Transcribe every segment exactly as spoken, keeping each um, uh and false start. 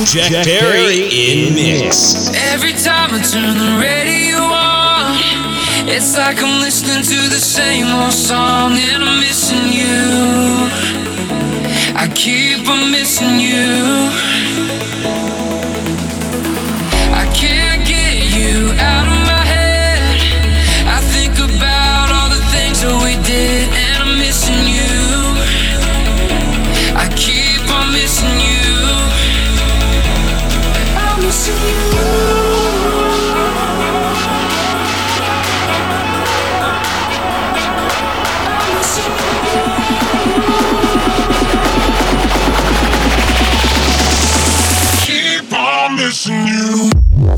Jack, Jack Perry in mix. Every time I turn the radio on, it's like I'm listening to the same old song, and I'm missing you. I keep on missing you. I can't get you out of my head. I think about all the things that we did, and I'm missing you. I keep on missing you. I'm missing you. Missing you.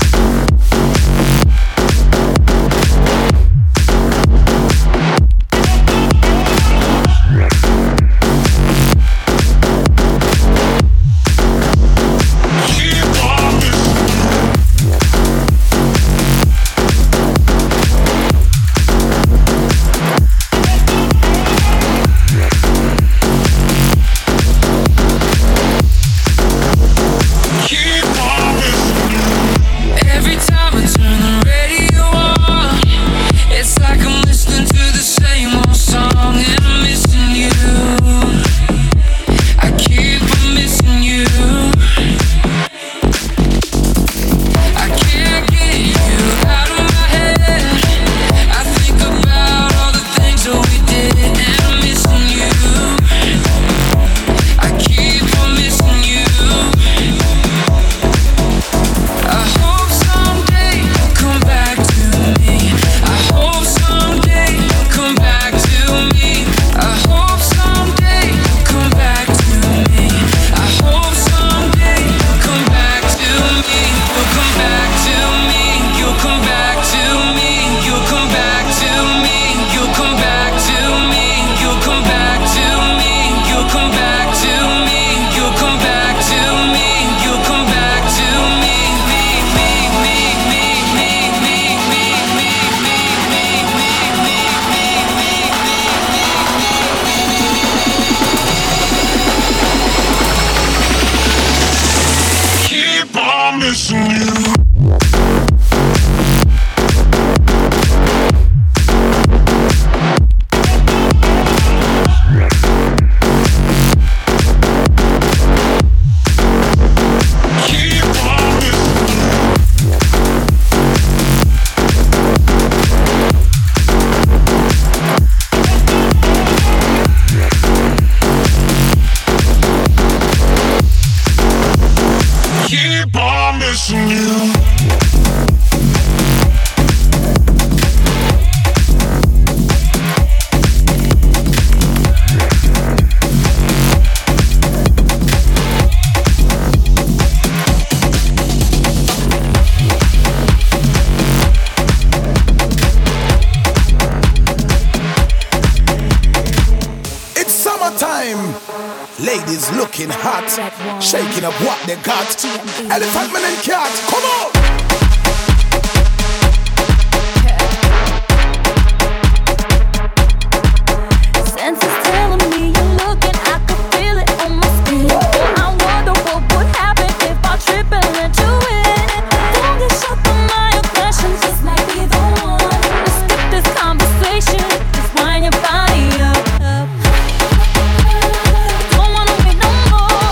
Ladies looking hot, shaking up what they got. Elephant man and cat, come on!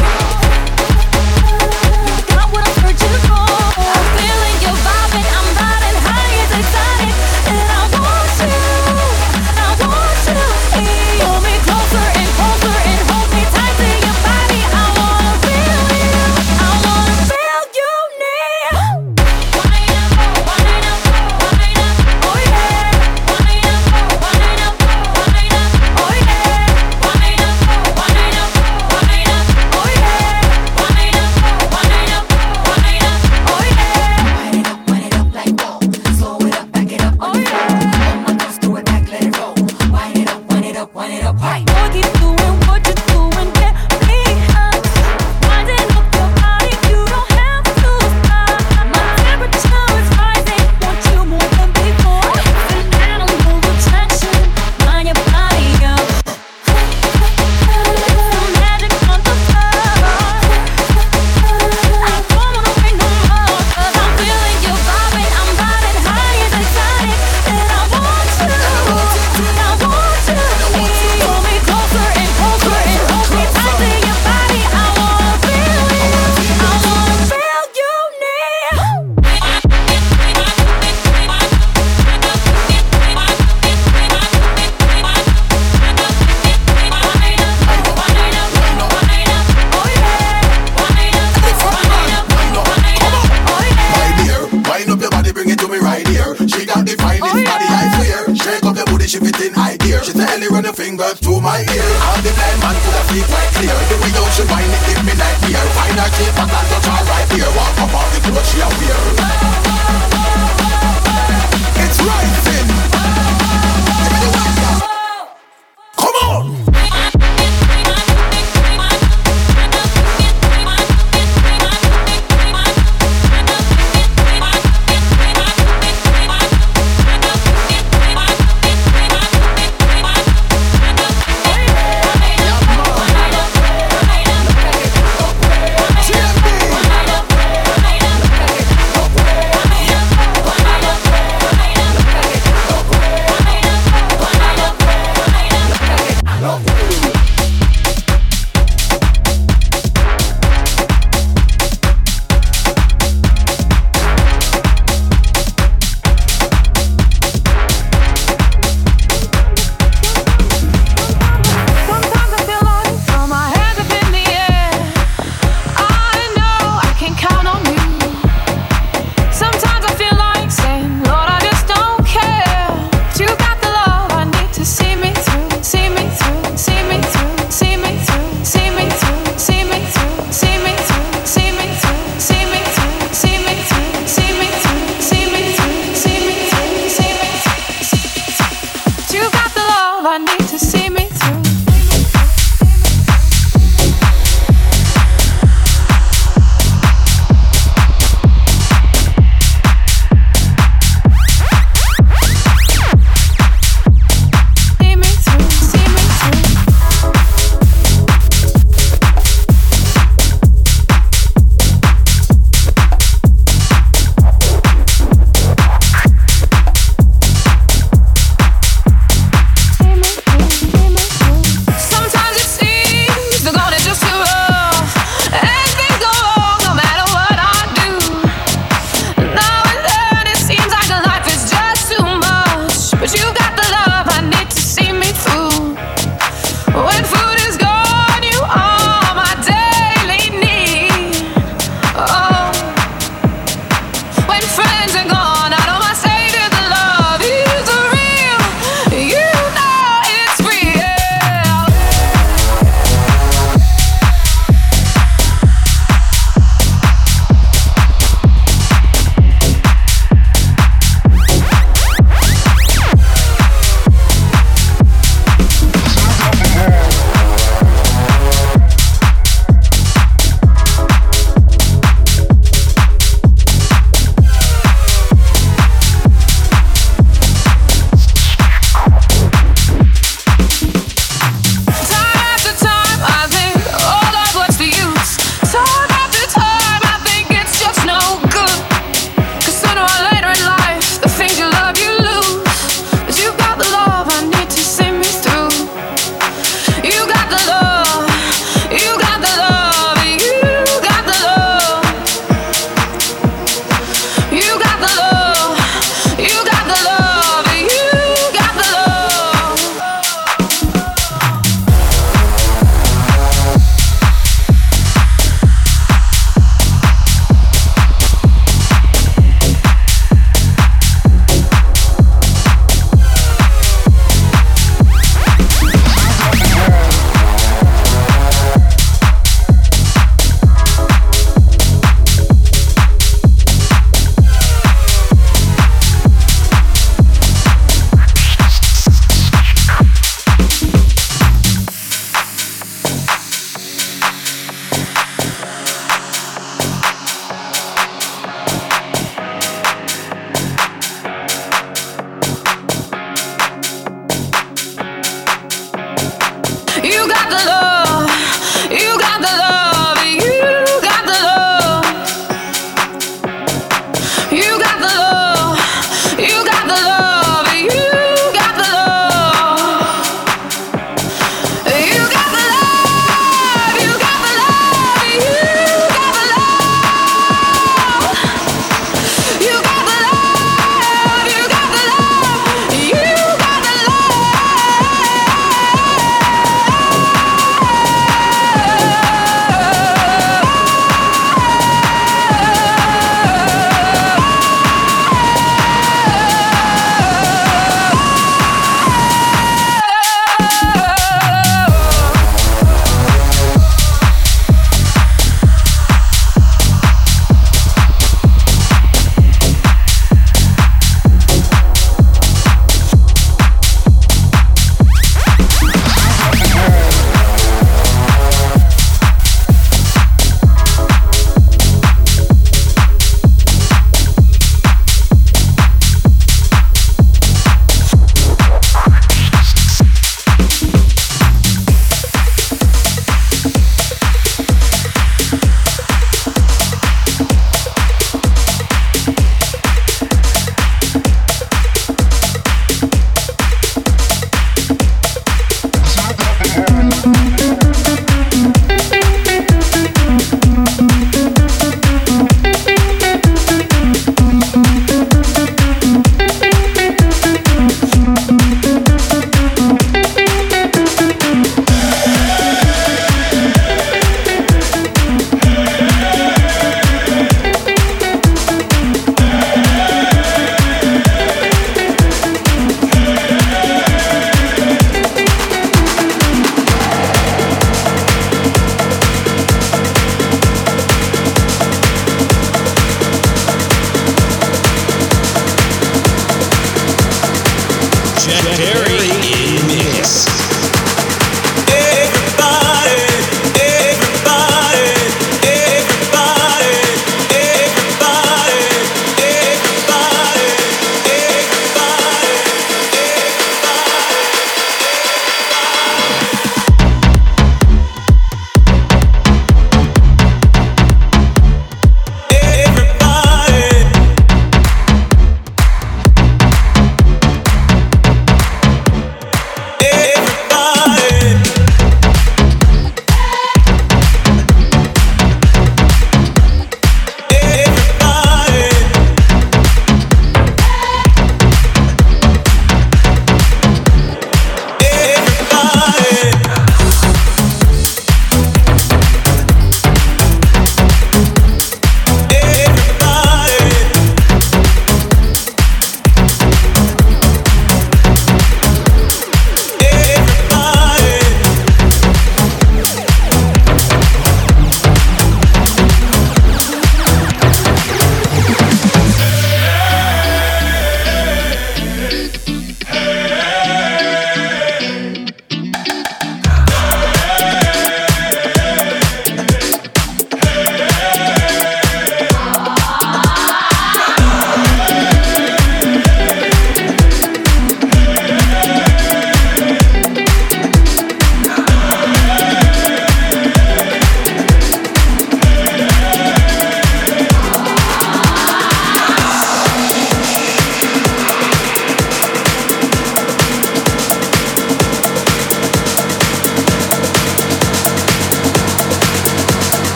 I'm jungle to my ear. All the blind man could have see quite clear. The way you should whine it give me nightmare. Find her keep a and touch her right here. Walk up all the clothes she a wear. It's rising. Give me the white girl. Come on. G M B.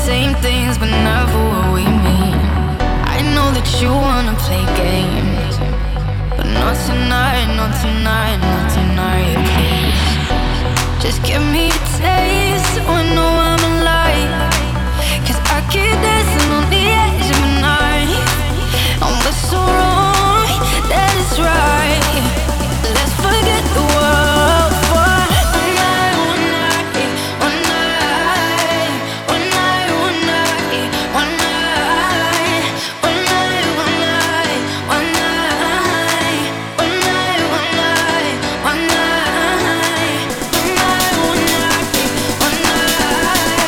same things, but never what we mean. I know that you wanna play games, but not tonight, not tonight, not tonight, please. Just give me a taste so I know I'm alive. Cause I keep dancing on the edge of the night. And what's so wrong, that is right. Let's forget the world for one night, one night, one night, one night, one night, one night, one night, one night, one night, one night, one night, one night, one night, one night, one night.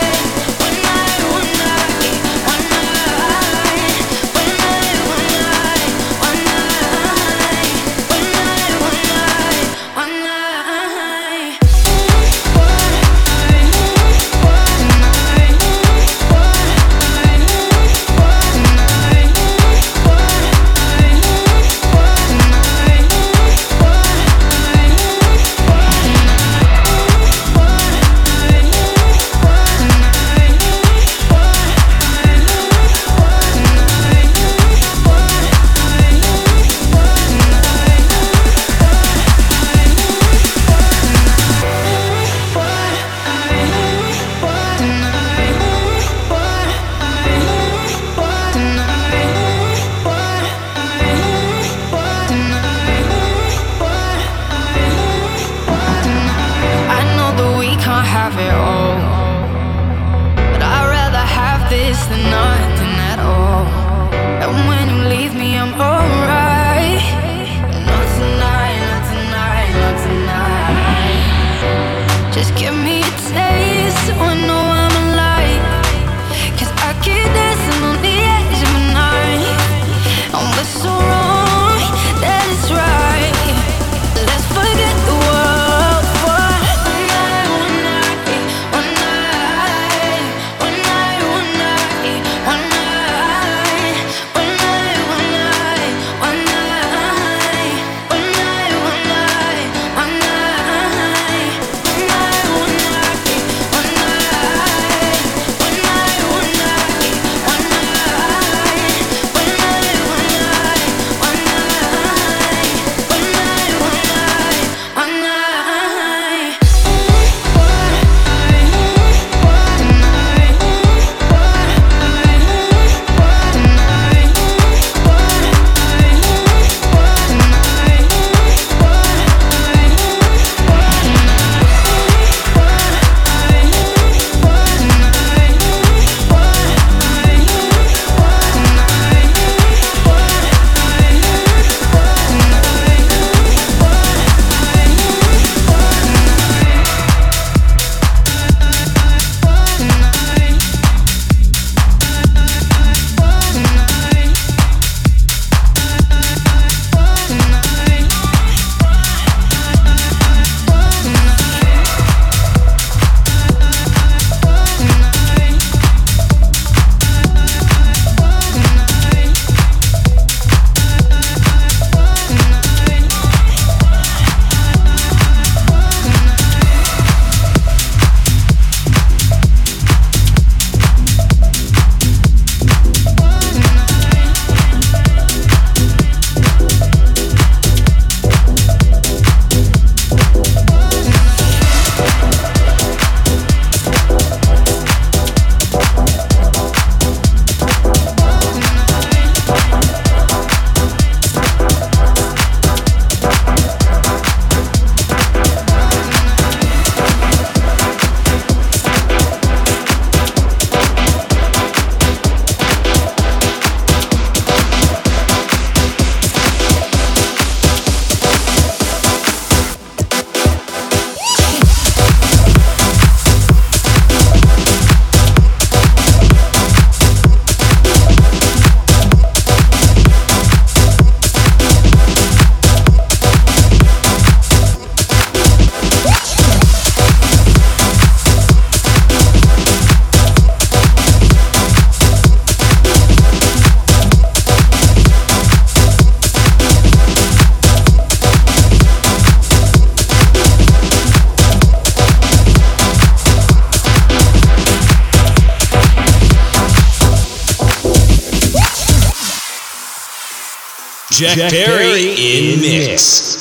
Jack Perry in mix.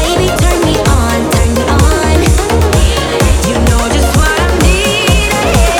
You know just what I need.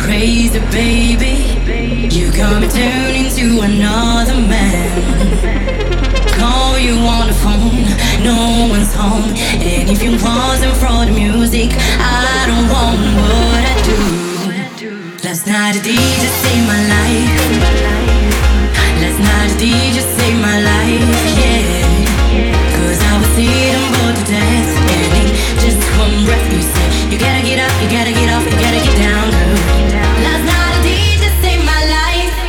crazy, baby. You got me turning to another man. Call you on the phone, no one's home. And if it wasn't for the music, I don't want what I do. Last night the D J saved my life. Last night the D J saved my life, yeah. Cause I was sitting bored to death. And in just one breath you said, you gotta get up, you gotta get off, you gotta get down, girl. Last night the D J saved my life.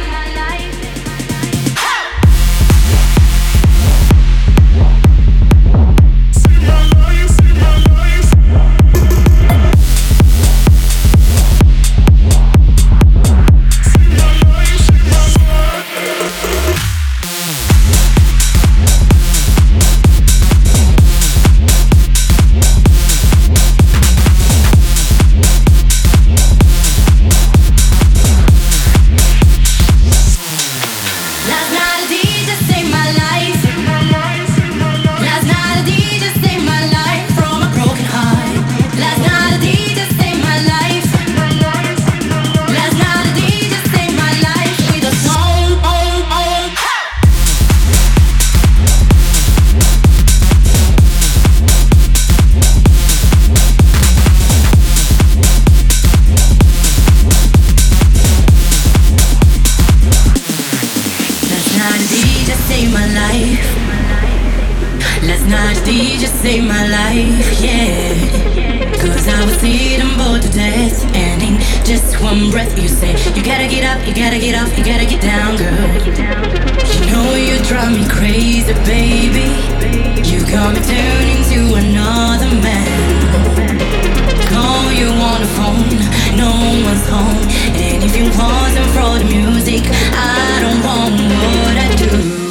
Saved my life, yeah. Cause I was sitting bored to death. And in just one breath you say, you gotta get up, you gotta get off, you gotta get down, girl. You know you drive me crazy, baby. You got me turning to another man. Call you on the phone, no one's home. And if it wasn't for the music, I don't want what I do.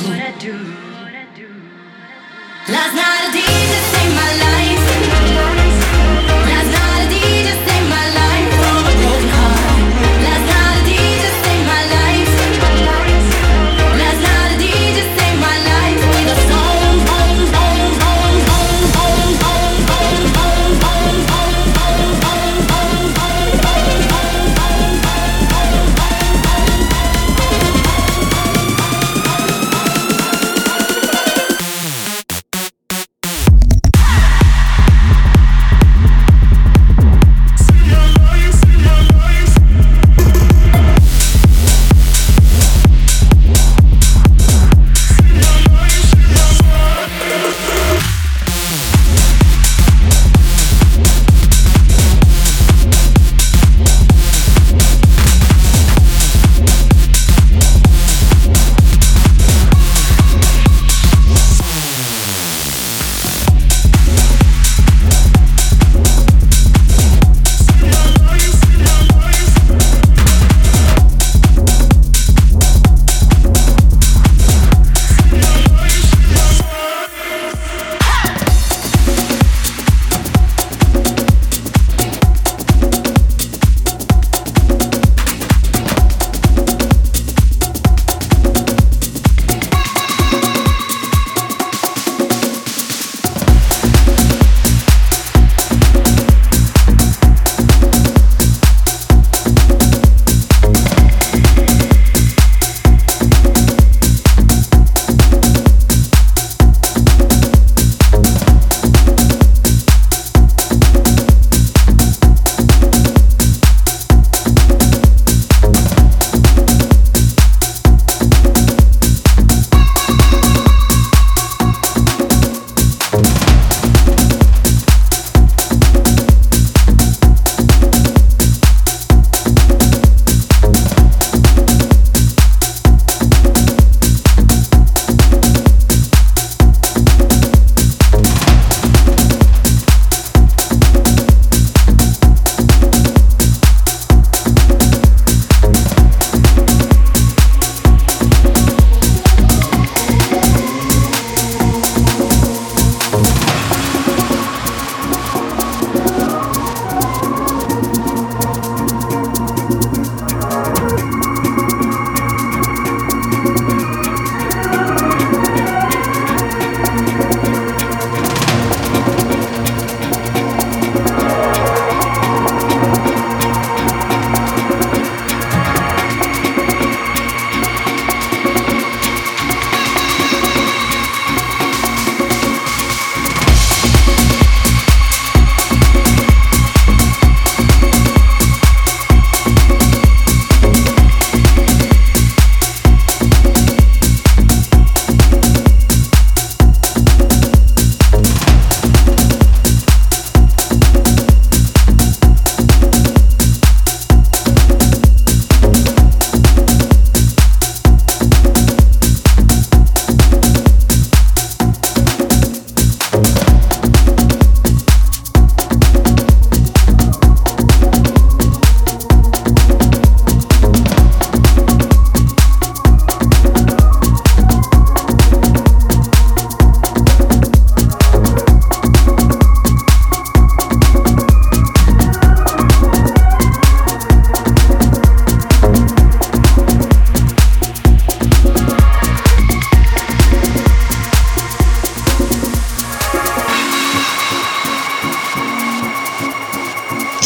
Last night a D J saved my life. Last night a D J saved my life from a broken heart. Last night a D J saved my life. Last night a D J saved my life with a song, song, song, song, song, song, song, song, song, song, song, song, song, song, song, song.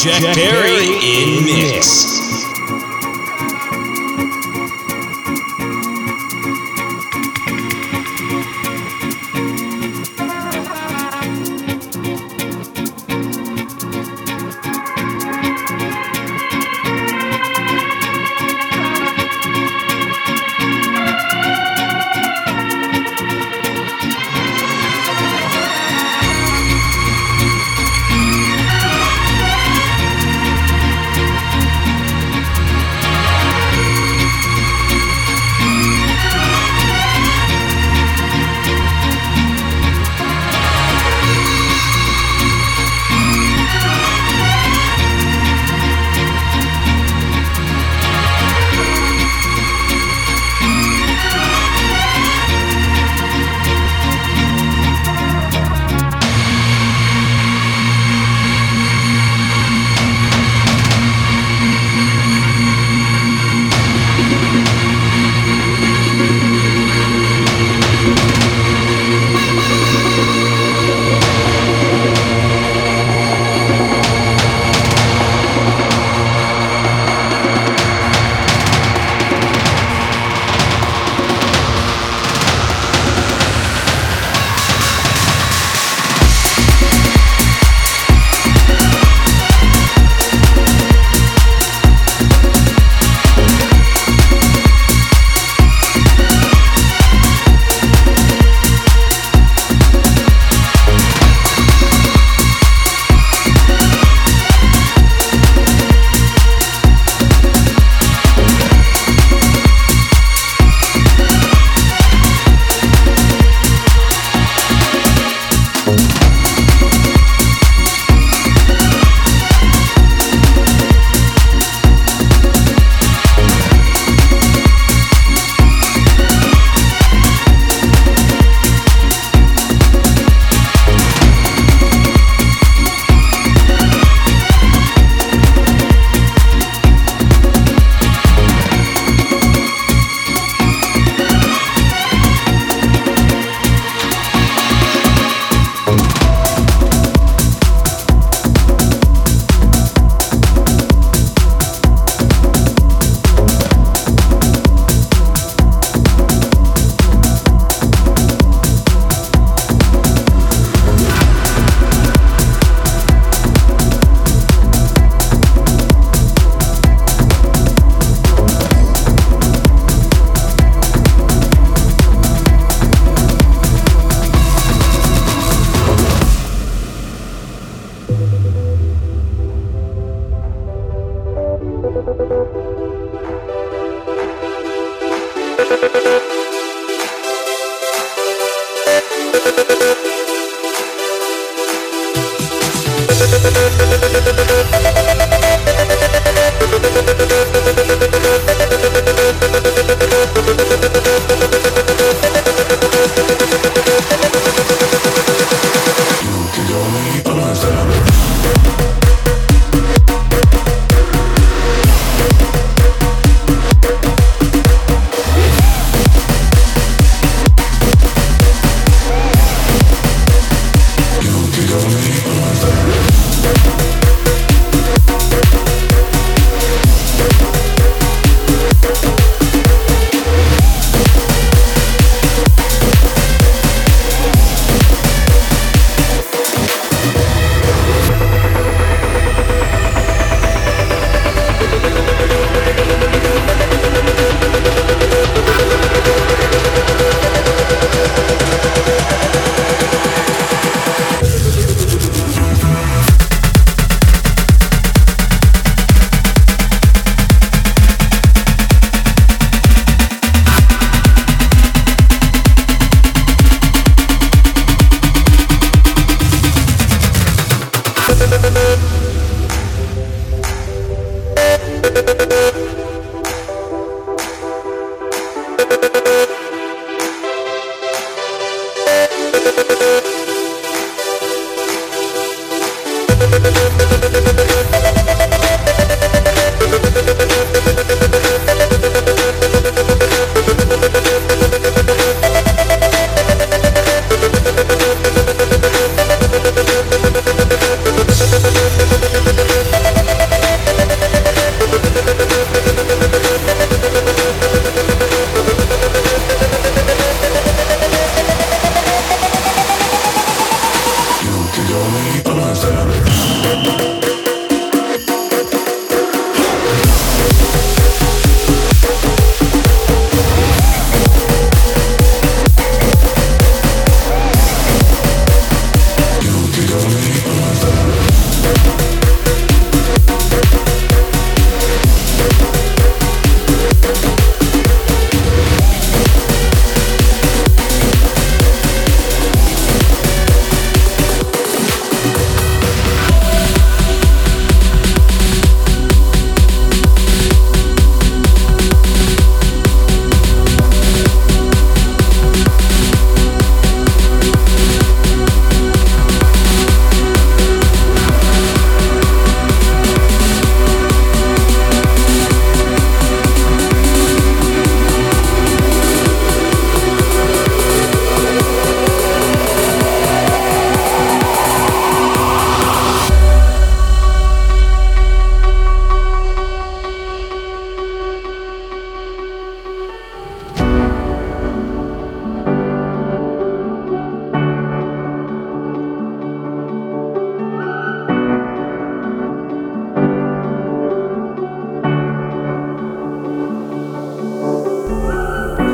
Jack Perry in mix.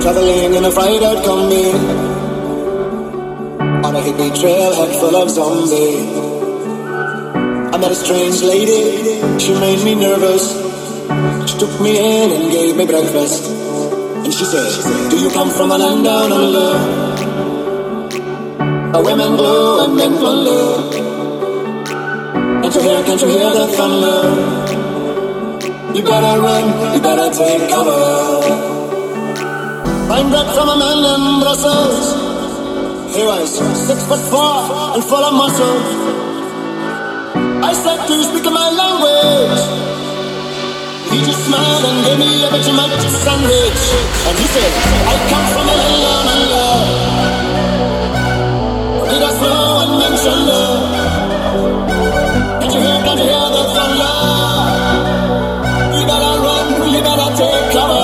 traveling in a fried-out combi on a hippie trailhead full of zombies. I met a strange lady, she made me nervous. She took me in and gave me breakfast. And she said, do you come from a land down under, a women blue and men plunder? Can't you hear, can't you hear the thunder? You better run, you better take cover. Fine bread from a man in Brussels. He was six foot four and full of muscle. I said, do you speak my language? He just smiled and gave me a Vegemite sandwich. And he said, I come from a land down under. Did I slow and mention love? Can't you hear, can't you hear the thunder? You better run, you better take cover.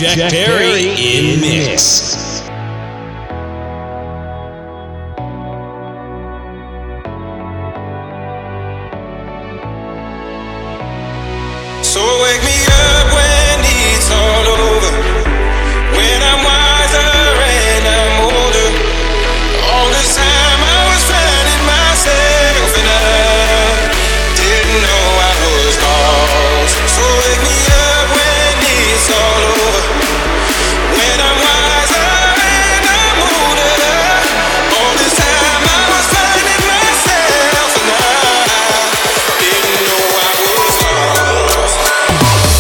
Jack Perry in mix. So wake me up when it's all over, when I'm wiser and I'm older. All this time I was finding myself and I didn't know I was lost. So wake me up when it's all over, when I'm wiser and I'm older. All this time I was finding myself and I didn't know I was lost.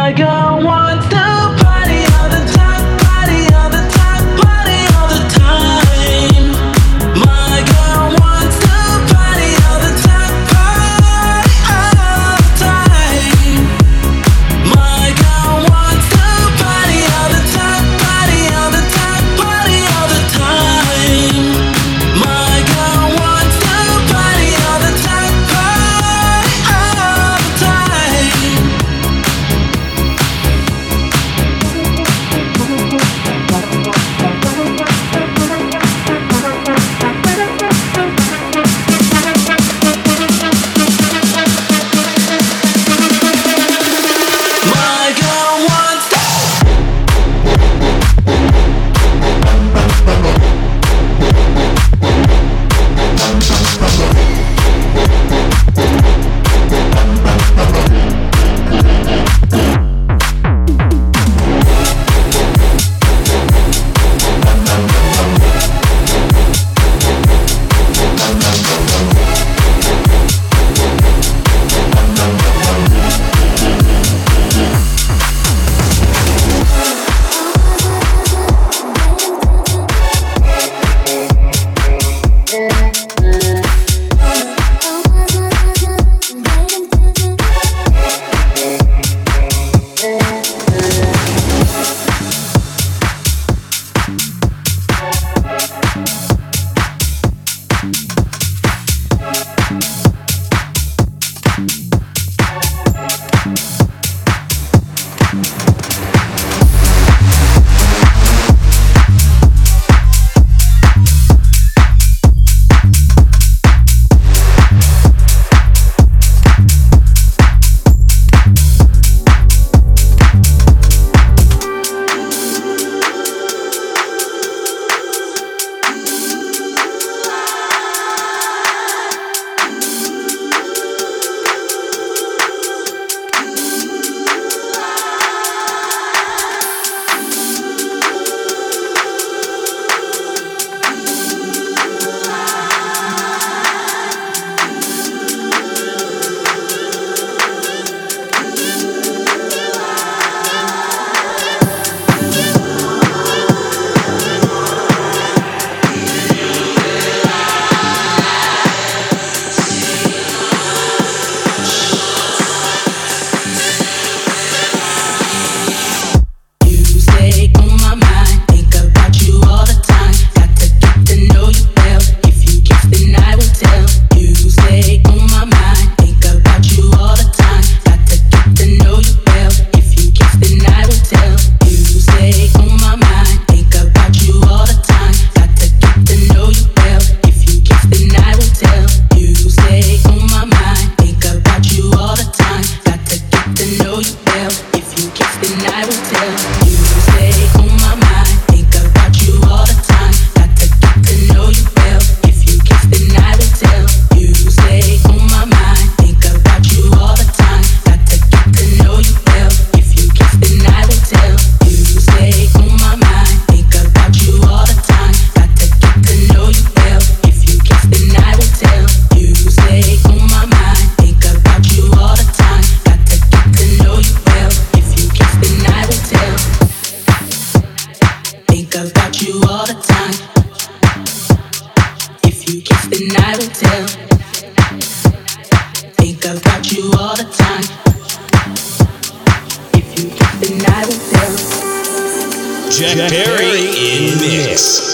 Jack Perry in mix.